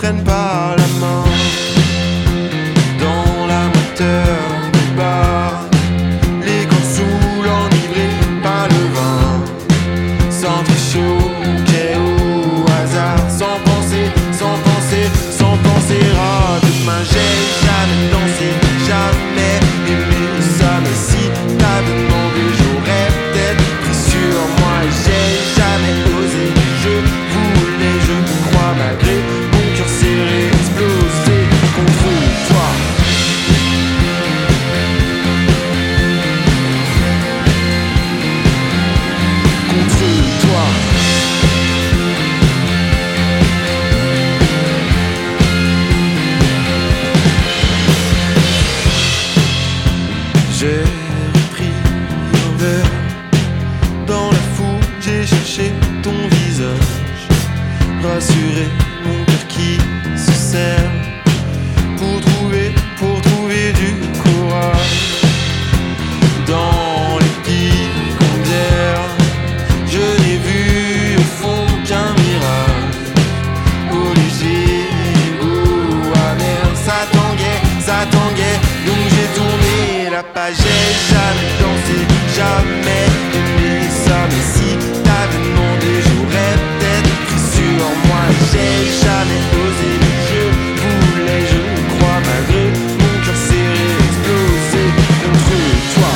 prenne par la main. Dans la moteur du bar, les corps saouls enivrés par le vin. S'entrechoquer au hasard, sans penser à demain. J'ai jamais dansé, jamais aimé ça, mais si t'avais demandé, j'aurais peut-être pris sur moi. J'ai jamais osé, je voulais, je crois, malgré mon cœur serré, exploser contre toi. Contre toi. J'ai repris un verre. Dans la foule, j'ai cherché ton visage. Rassuré, mon cœur qui se serre. Pour trouver du courage. Dans les pics en bière, je n'ai vu au fond qu'un mirage. Au léger, au amer, ça tanguait, donc j'ai tourné la page. J'ai jamais dansé, jamais aimé ça, mais si t'avais demandé, j'aurais peut-être pris sur moi. J'ai jamais osé, je voulais, je crois, malgré mon cœur serré, exploser contre toi.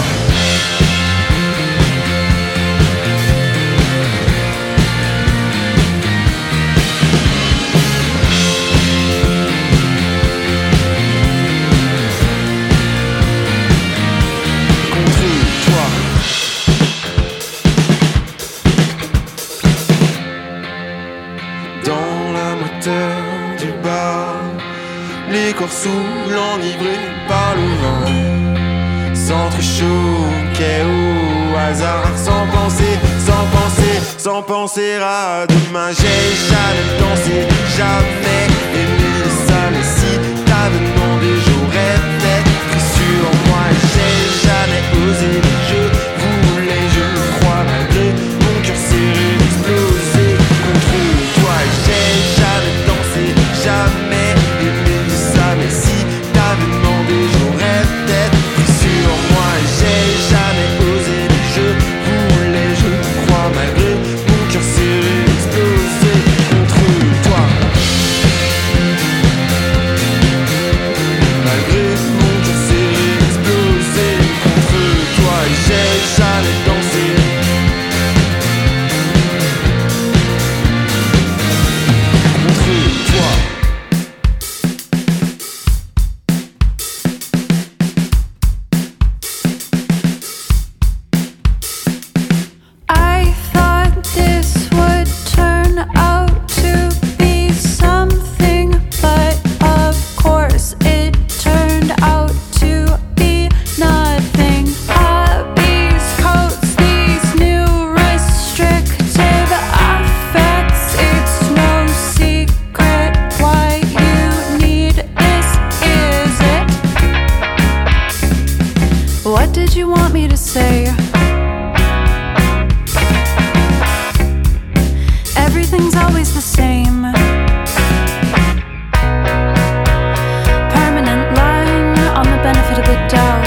Les corps saouls enivrés par le vin s'entrechoquaient au hasard, sans penser à demain. J'ai jamais dansé, jamais aimé ça, mais si t'avais demandé, j'aurais peut-être pris sur moi. J'ai jamais osé, je voulais, je crois, malgré mon cœur serré, exploser contre toi. J'ai jamais dansé, jamais aimé ça, mais si t'avais demandé, j'aurais peut-être pris sur moi. J'ai jamais osé, je voulais, je crois, malgré mon cœur serré, exploser contre toi. Malgré mon cœur serré, exploser contre toi. J'ai jamais dansé. What did you want me to say? Everything's always the same. Permanent line on the benefit of the doubt.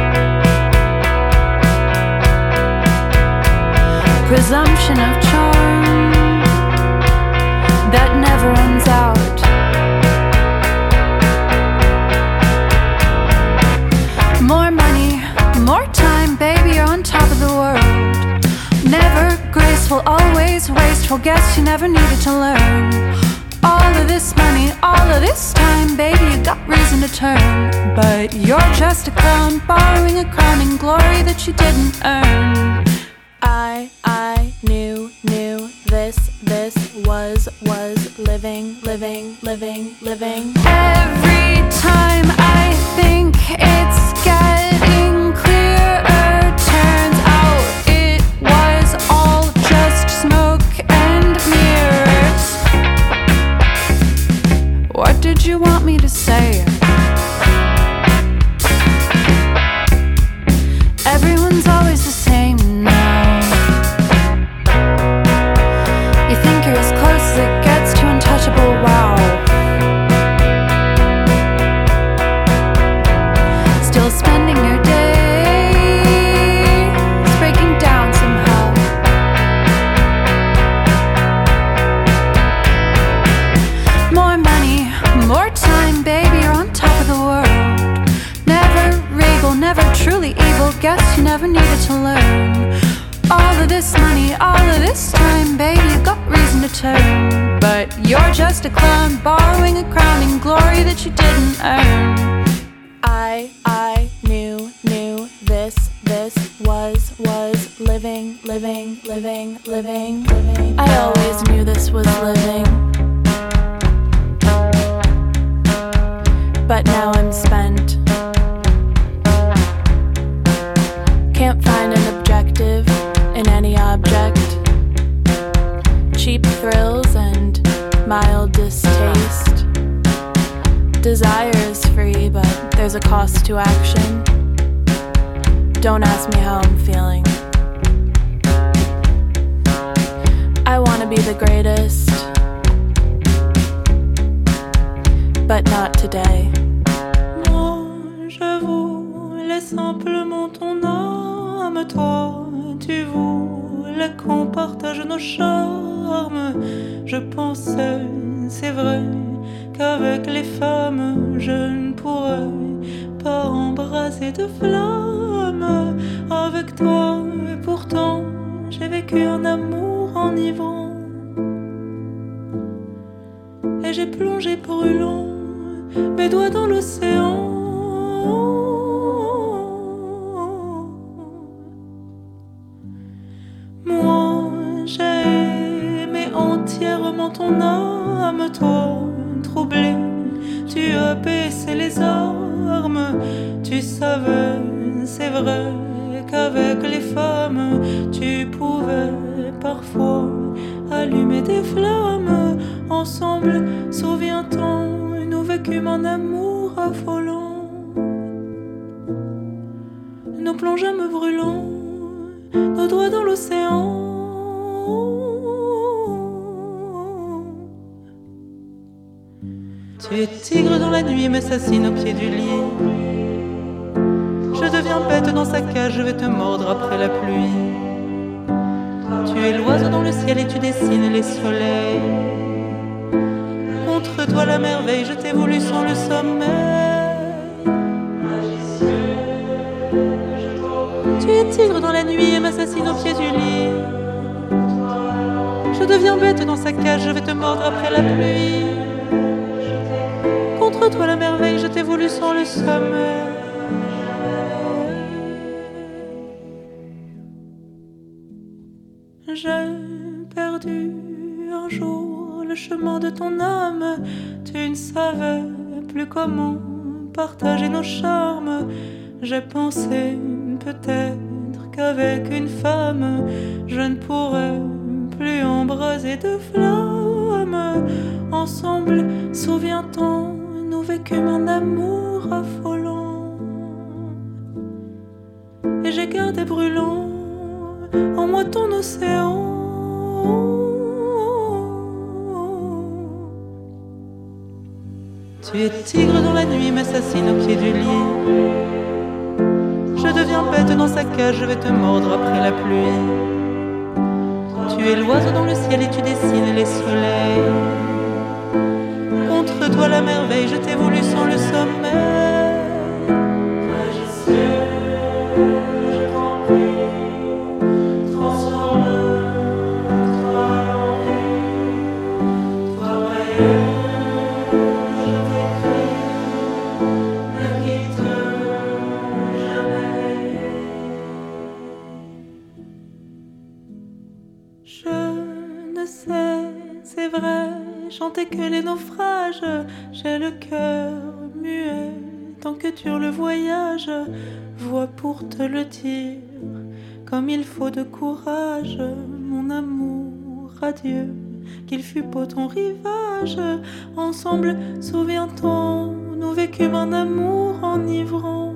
Presumption of charm that never runs out. More money, more time, baby, you're on top of the world. Never graceful, always wasteful, guess you never needed to learn. All of this money, all of this time, baby, you got reason to turn. But you're just a clown, borrowing a crowning glory that you didn't earn. I knew this was living. Every time I think it's getting clearer, turns out it was all just smoke and mirrors. What did you want me to say? Everyone's always the same now. You think you're as close as it gets to untouchable, wow. to learn. All of this money, all of this time, baby, you got reason to turn. But you're just a clown, borrowing a crowning glory that you didn't earn. I knew this was living. I always knew this was living. But now I'm spent. Can't find an objective in any object. Cheap thrills and mild distaste. Desire is free, but there's a cost to action. Don't ask me how I'm feeling. I wanna be the greatest, but not today. Moi, je voulais simplement ton âme. Toi, tu voulais qu'on partage nos charmes. Je pensais, c'est vrai, qu'avec les femmes, je ne pourrais pas embrasser de flamme. Avec toi, et pourtant, j'ai vécu un amour enivrant. Et j'ai plongé brûlant mes doigts dans l'océan. Moi, j'ai aimé entièrement ton âme. Toi, troublé, tu as baissé les armes. Tu savais, c'est vrai, qu'avec les femmes, tu pouvais parfois allumer des flammes. Ensemble, souviens-t'en, nous vécûmes un amour affolant. Nous plongeâmes brûlants nos doigts dans l'océan. Tu es tigre dans la nuit, m'assassine au pied du lit. Je deviens bête dans sa cage, je vais te mordre après la pluie. Tu es l'oiseau dans le ciel et tu dessines les soleils. Contre toi la merveille, je t'ai voulu sans le sommeil. Tu es tigre dans la nuit et m'assassine au pied du lit. Je deviens bête dans sa cage, je vais te mordre après la pluie. Contre toi la merveille, je t'ai voulu sans le sommeil. J'ai perdu un jour le chemin de ton âme. Tu ne savais plus comment partager nos charmes. J'ai pensé peut-être qu'avec une femme, je ne pourrais plus embraser de flamme. Ensemble, souviens-t'en, nous vécûmes un amour affolant. Et j'ai gardé brûlant en moi ton océan. Tu es tigre dans la nuit, m'assassine au pied du lit. Je deviens bête dans sa cage, je vais te mordre après la pluie. Tu es l'oiseau dans le ciel et tu dessines les soleils. Contre toi la merveille, je t'ai voulu sans le sommeil. Magicien, je t'en prie, transforme-toi en vie. Toi Brian, je t'écris, ne quitte jamais. Je ne sais, c'est vrai, chanter que les naufrages. J'ai le cœur muet tant que dure le voyage. Voix pour te le dire, comme il faut de courage. Mon amour, adieu, qu'il fut beau ton rivage. Ensemble, souviens-t'en, nous vécûmes un amour enivrant.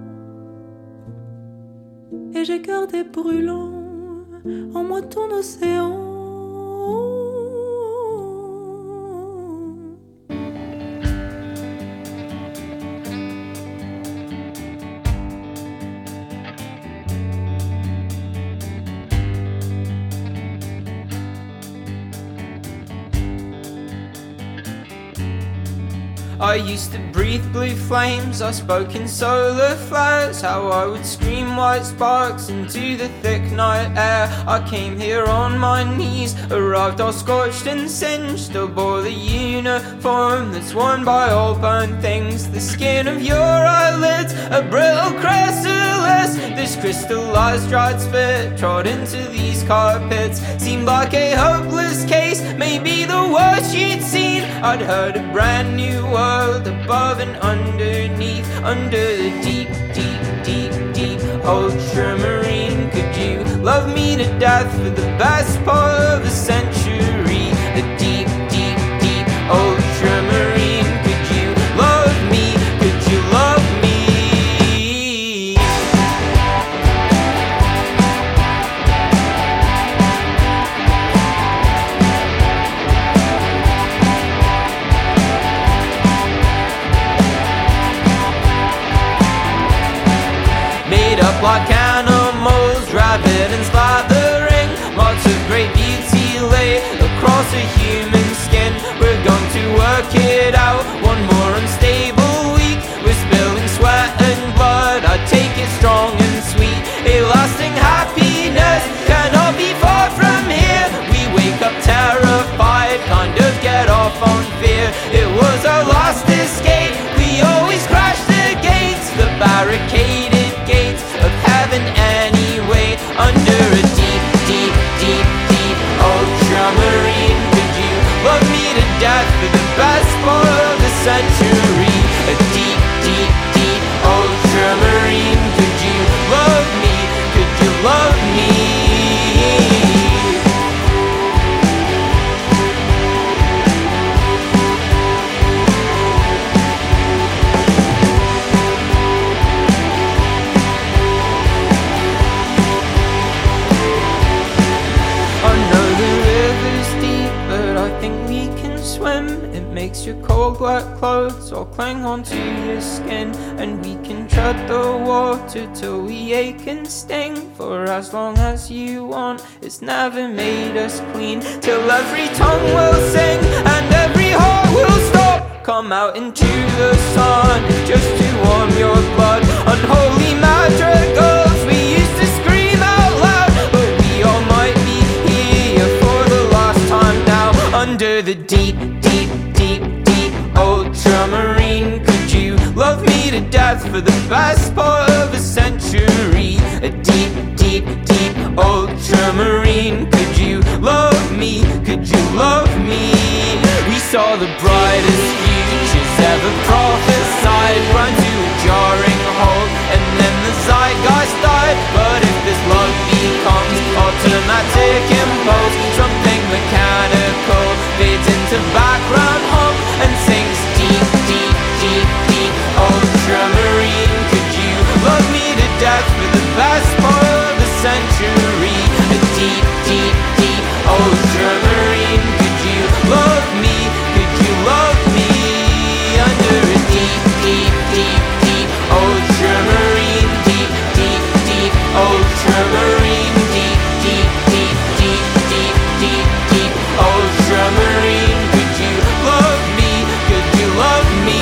Et j'ai gardé brûlant en moi ton océan. I used to breathe blue flames, I spoke in solar flares. How I would scream white sparks into the thick night air. I came here on my knees, arrived all scorched and singed. Still bore the uniform that's worn by all burnt things. The skin of your eyelids, a brittle chrysalis. This crystallized dried spit trod into these carpets. Seemed like a hopeless case, maybe the worst you'd seen. I'd heard a brand new world above and underneath. Under the deep, deep, deep, deep ultramarine. Could you love me to death for the best part of a century? The deep, deep, deep ultramarine. Could you love me? Could you love me? Up like animals, rabid and slathering. Marks of great beauty lay across a human skin. We're going to work it out. One more unstable week. We're spilling sweat and blood. I take it strong and sweet. A lasting happiness cannot be far from here. We wake up terrified, kind of get off on fear. It was our last escape. We always crash the gates, the barricaded gates of heaven anyway. Under a deep, deep, deep, deep ultramarine. Could you love me to death for the best part of the century? A deep, deep, deep ultramarine. Could you love me? Could you love me? Makes your cold wet clothes all cling onto your skin. And we can tread the water till we ache and sting. For as long as you want, it's never made us clean. Till every tongue will sing and every heart will stop. Come out into the sun just to warm your blood. Unholy madrigals we used to scream out loud. But we all might be here for the last time now. Under the deep, deep, deep, deep ultramarine. Could you love me to death for the best part of a century? A deep, deep, deep ultramarine. Could you love me? Could you love me? We saw the brightest futures ever prophesied. Run to a jarring halt and then the zeitgeist died. But if this love becomes automatic impulse, something mechanical fades into background hum and sings deep, deep, deep, deep ultramarine. Could you love me to death for the best part of the century? A deep, deep, deep ultramarine. Could you love me? Could you love me? Under a deep, deep, deep, deep ultramarine. Deep, deep, deep ultramarine. Deep, deep, deep, deep, deep, deep, deep ultramarine. Could you love me? Could you love me?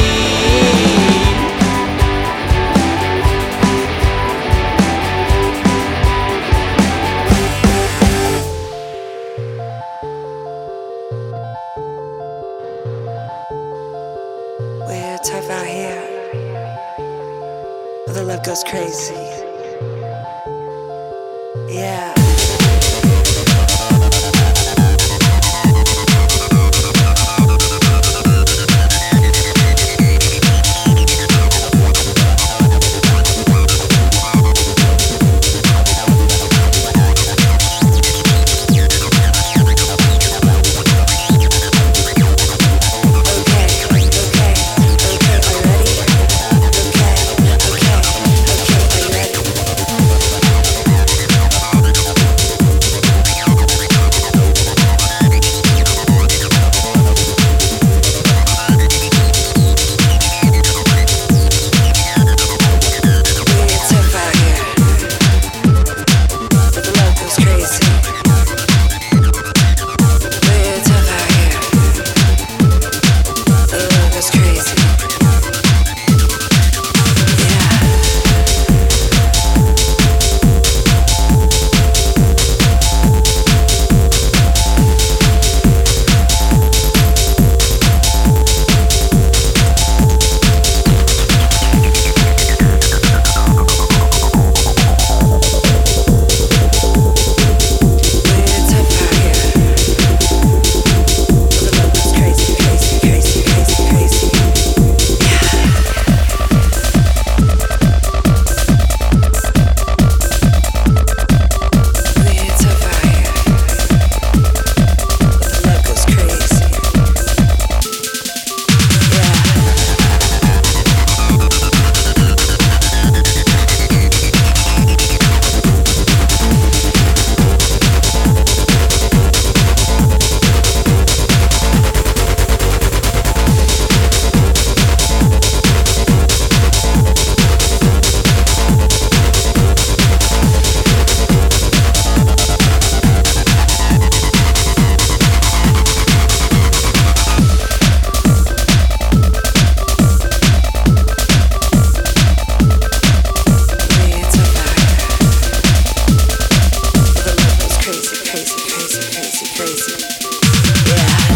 We're tough out here, but the love goes crazy. Yeah. Okay, are you ready? Okay, are you ready? crazy, crazy. Yeah.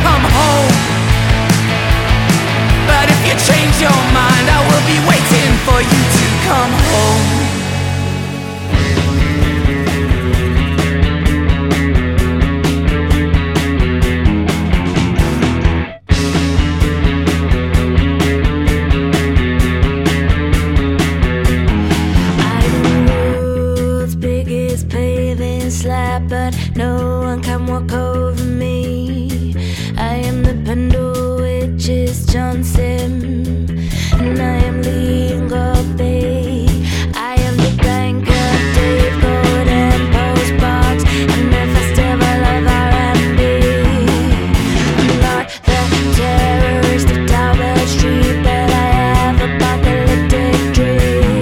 come home. But if you change your mind, I will be waiting for you to come home. But no one can walk over me. I am the Pendle, which is Johnson, and I am Leon Bay. I am the banker, Dave Gordon, Postbox, and the festival of R&B. I'm not the terrorist of Talbot Street, but I have apocalyptic dreams.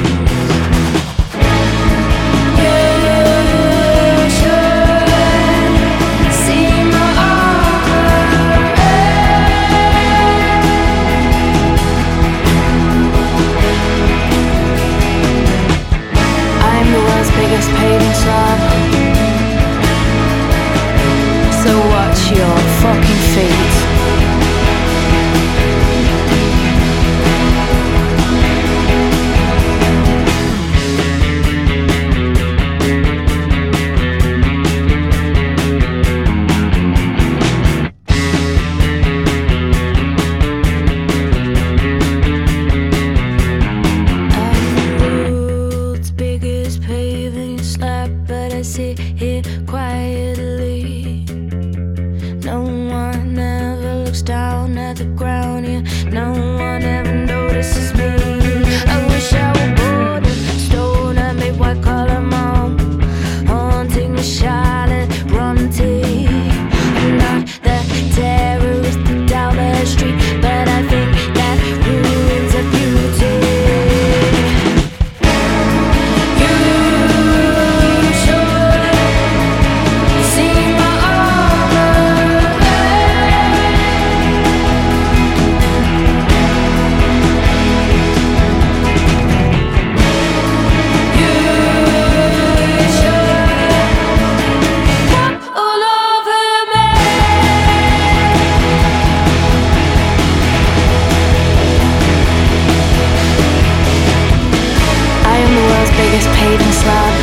Painting slab. So watch your fucking feet. Sit here quietly. No one ever looks down at the ground here. No one ever notices me. I wish I were bored and stone and made white collar mom, haunting the Charlotte Bronte. I'm not the terrorist of Talbot Street, but I think that ruins a beauty. Paving slab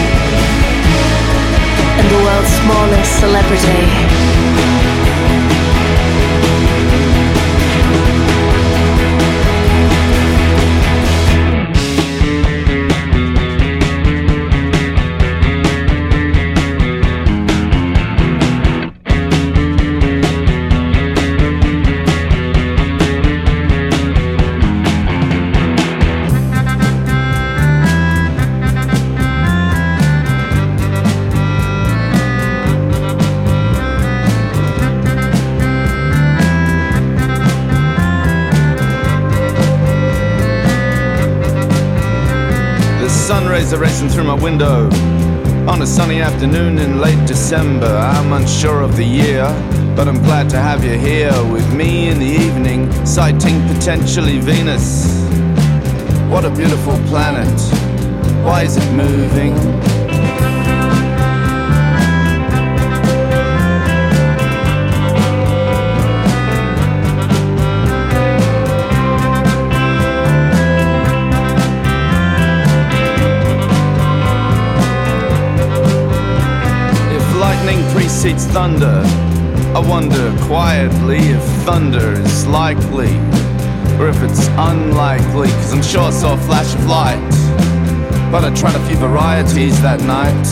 and the world's smallest celebrity. Sun rays are racing through my window on a sunny afternoon in late December. I'm unsure of the year, but I'm glad to have you here with me in the evening, sighting potentially Venus. What a beautiful planet. Why is it moving? Precedes thunder. I wonder quietly if thunder is likely, or if it's unlikely, cause I'm sure I saw a flash of light, but I tried a few varieties that night.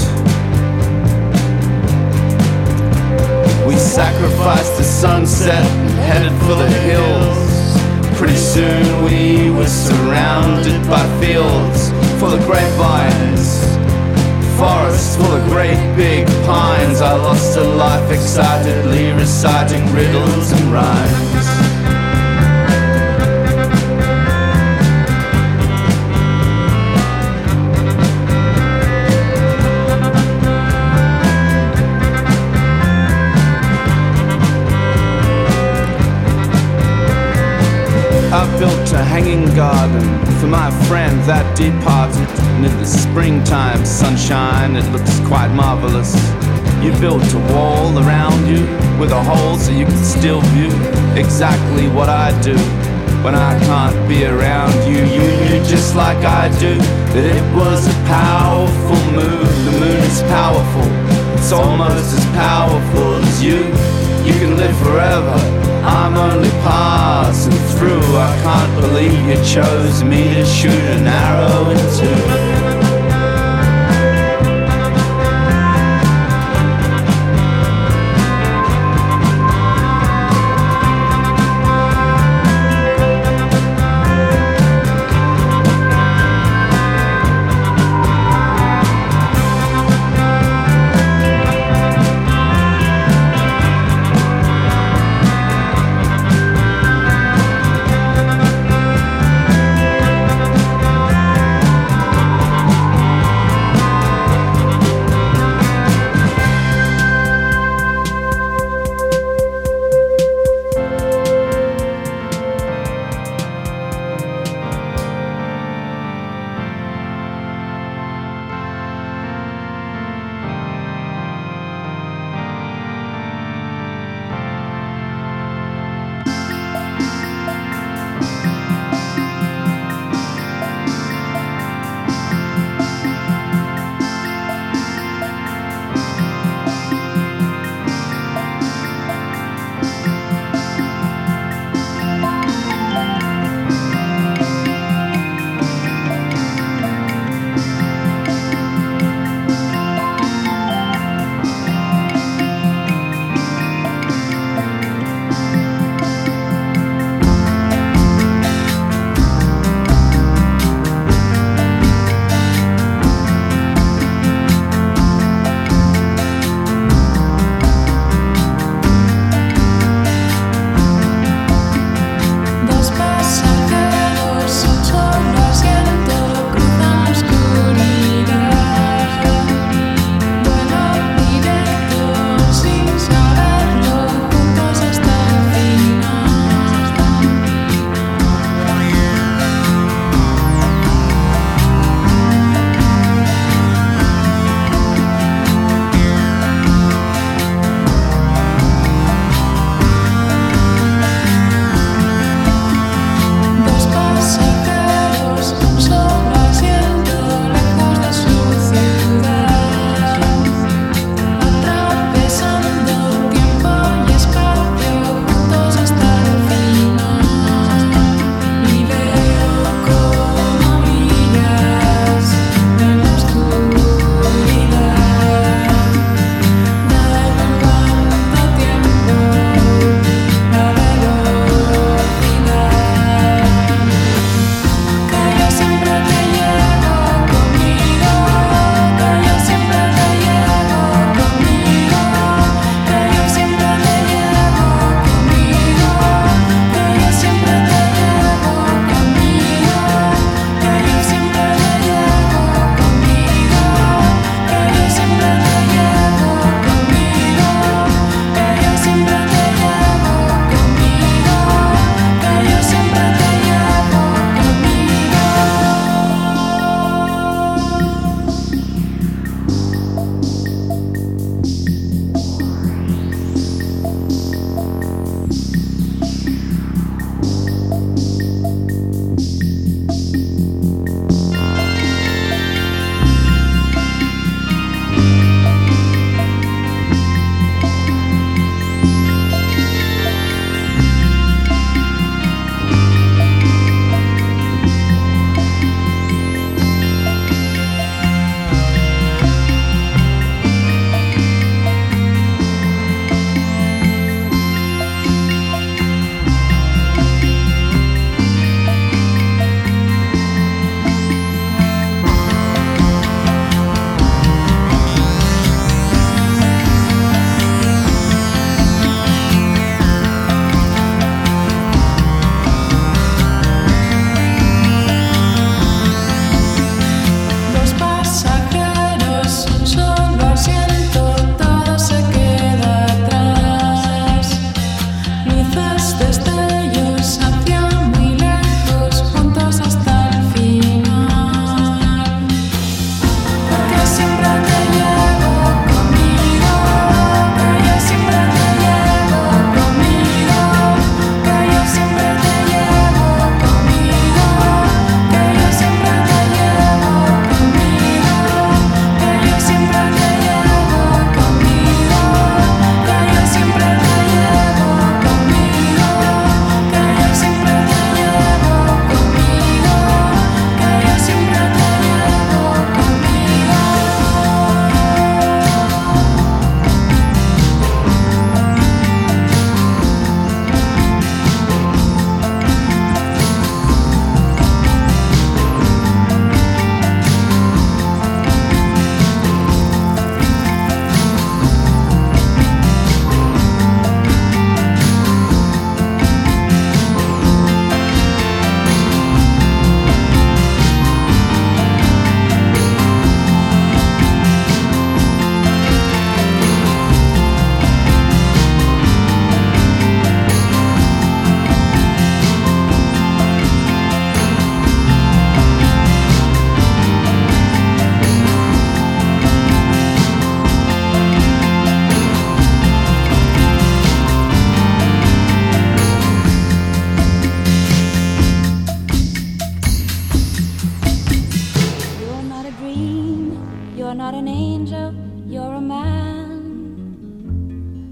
We sacrificed the sunset and headed for the hills. Pretty soon we were surrounded by fields full of grapevines, forests full of great big pines. I lost a life excitedly reciting riddles and rhymes. I built a hanging garden for my friend that departed, and in the springtime sunshine it looks quite marvelous. You built a wall around you, with a hole so you can still view exactly what I do. When I can't be around you, you knew just like I do that it was a powerful move. The moon is powerful, it's almost as powerful as you. You can live forever, I'm only passing through. I can't believe you chose me to shoot an arrow into.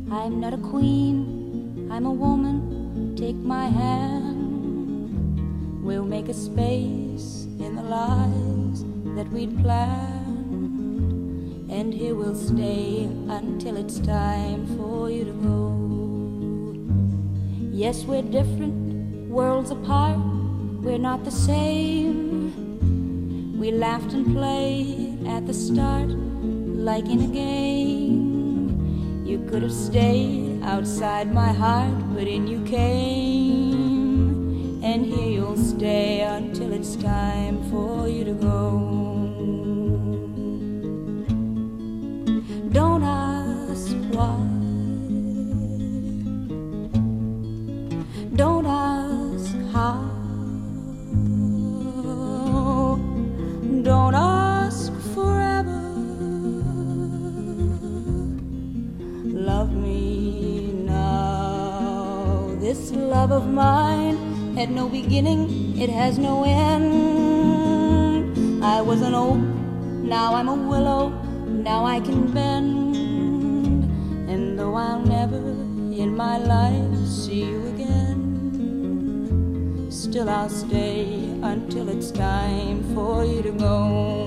I'm not a queen, I'm a woman, take my hand. We'll make a space in the lives that we'd planned, and here we'll stay until it's time for you to go. Yes, we're different, worlds apart, we're not the same. We laughed and played at the start like in a game. You could have stayed outside my heart, but in you came. And here you'll stay until it's time for you to go. Don't ask why. Don't ask how. Don't ask forever. Love me now. This love of mine had no beginning, it has no end. I was an oak, now I'm a willow, now I can bend. And though I'll never in my life see you again, still I'll stay until it's time for you to go.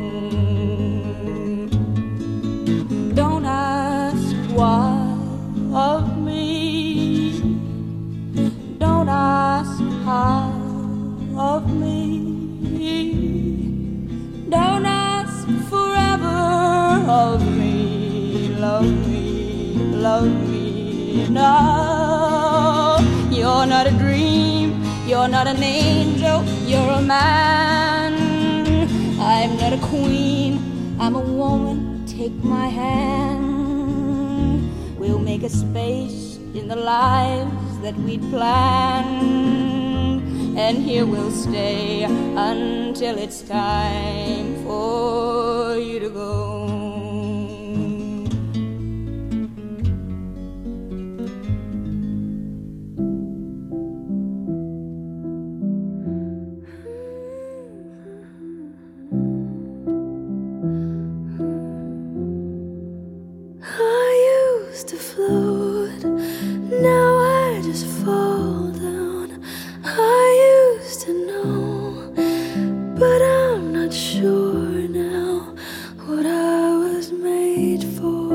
Don't ask why of me, don't ask how of me, don't ask forever of me. Love me, love me now. You're not a dream, you're not an angel, you're a man. I'm not a queen, I'm a woman, take my hand. We'll make a space in the lives that we'd planned, and here we'll stay until it's time for you to go. To float, now I just fall down. I used to know, but I'm not sure now what I was made for.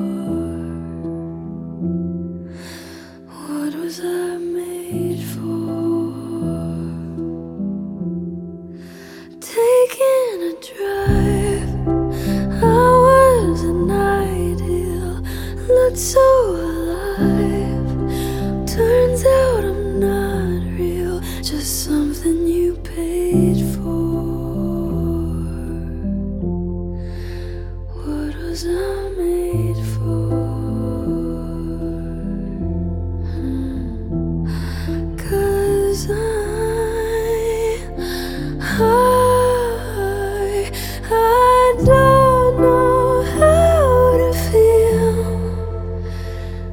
What was I made for? Taking a drive, I was an ideal, looked so alive. Turns out I'm not real, just something you paid for. What was I made for? 'Cause I don't know how to feel.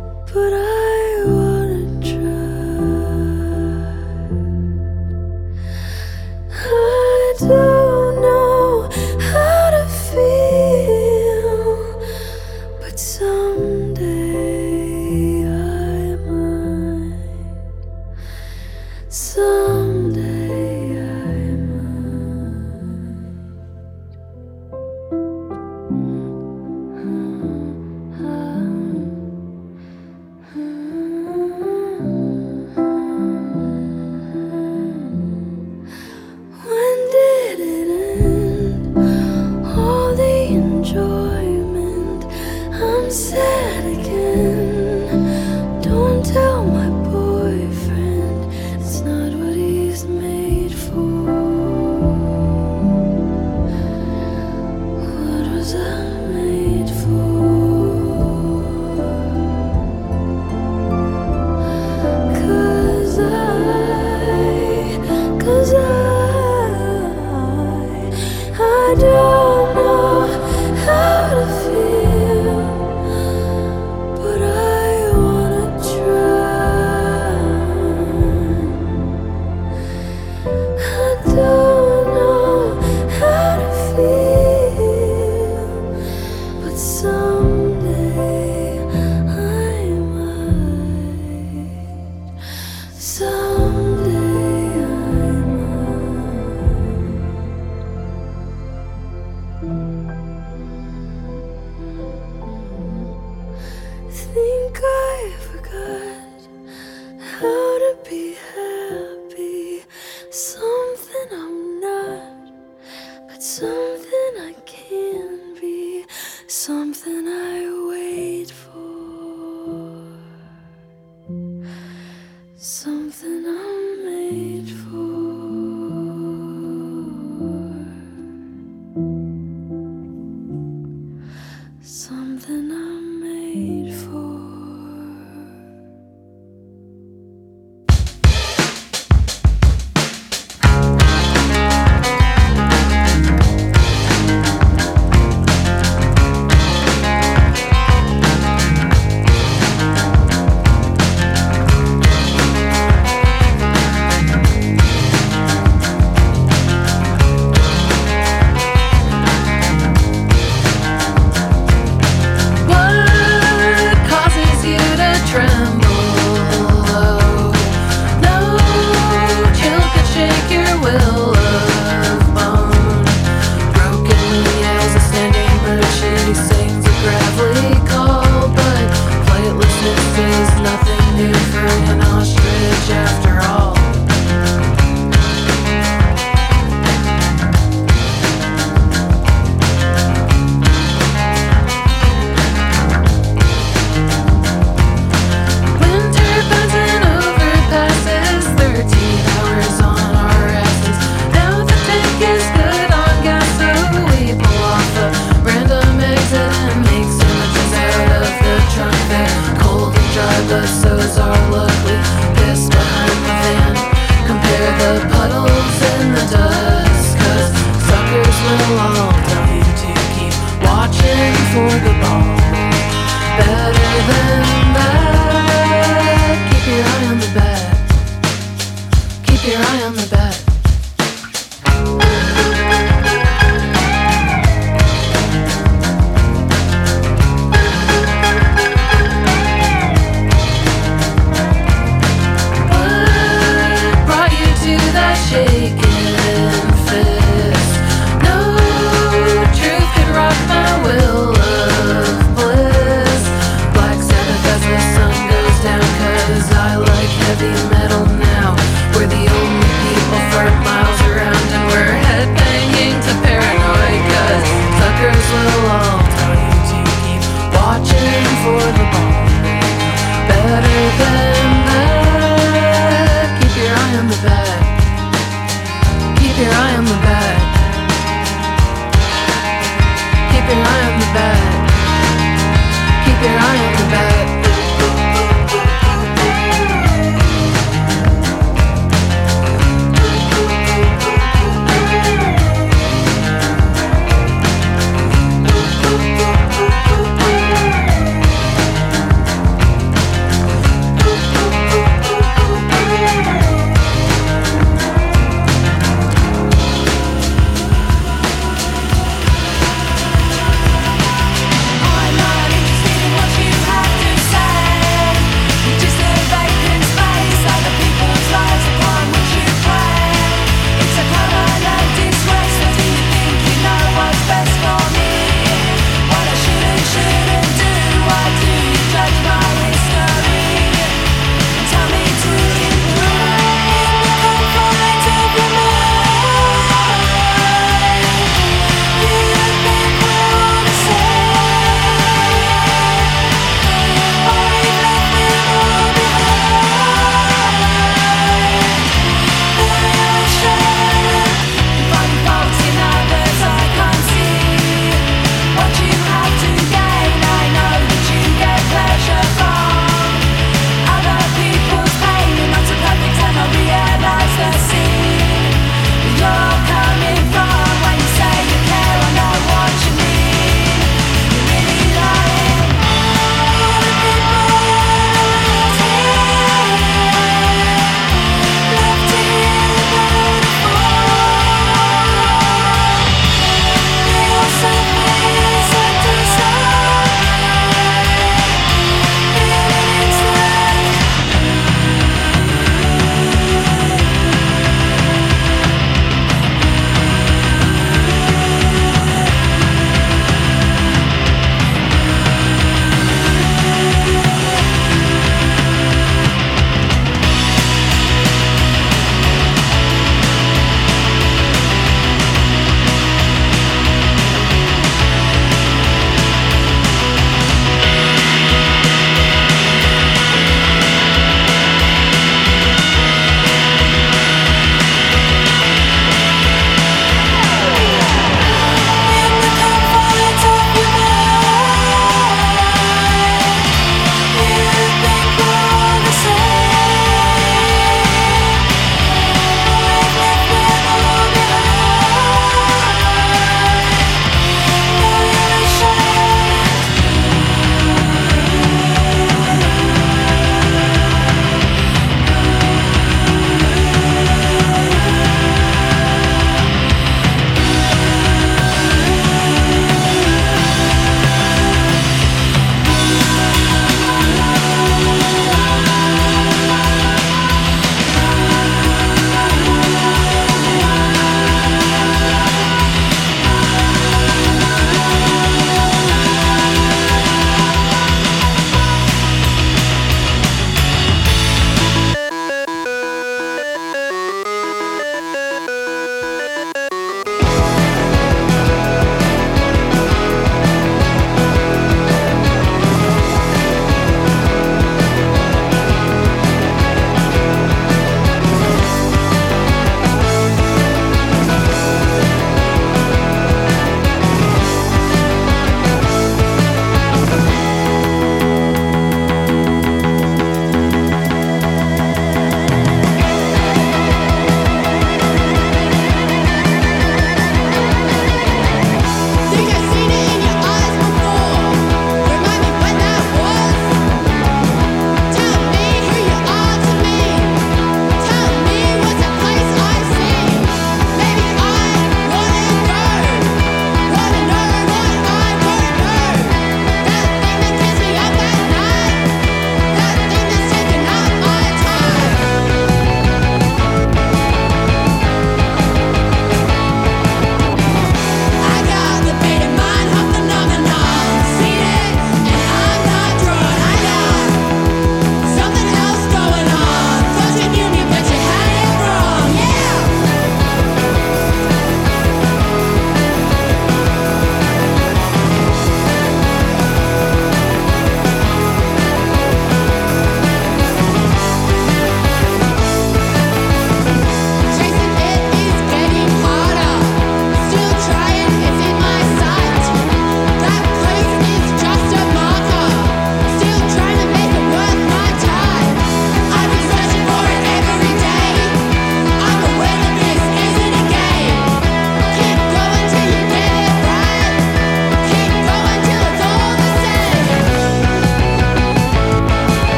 il faut